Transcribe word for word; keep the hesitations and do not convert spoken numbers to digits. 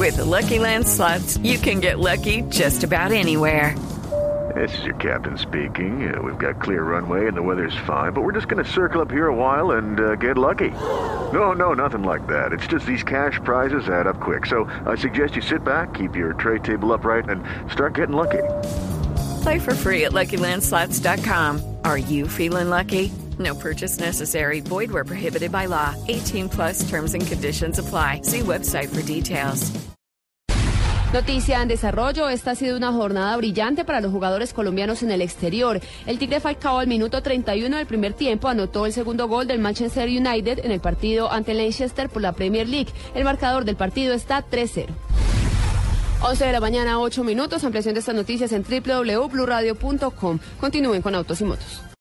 With the Lucky Land Slots, you can get lucky just about anywhere. This is your captain speaking. Uh, we've got clear runway and the weather's fine, but we're just going to circle up here a while and uh, get lucky. No, no, nothing like that. It's just these cash prizes add up quick. So I suggest you sit back, keep your tray table upright, and start getting lucky. Play for free at Lucky Land Slots dot com. Are you feeling lucky? No purchase necessary. Void where prohibited by law. eighteen plus terms and conditions apply. See website for details. Noticia en desarrollo, esta ha sido una jornada brillante para los jugadores colombianos en el exterior. El Tigre Falcao al minuto treinta y uno del primer tiempo anotó el segundo gol del Manchester United en el partido ante Leicester por la Premier League. El marcador del partido está tres cero. once de la mañana, ocho minutos. Ampliación de estas noticias en doble u doble u doble u punto blue radio punto com. Continúen con Autos y Motos.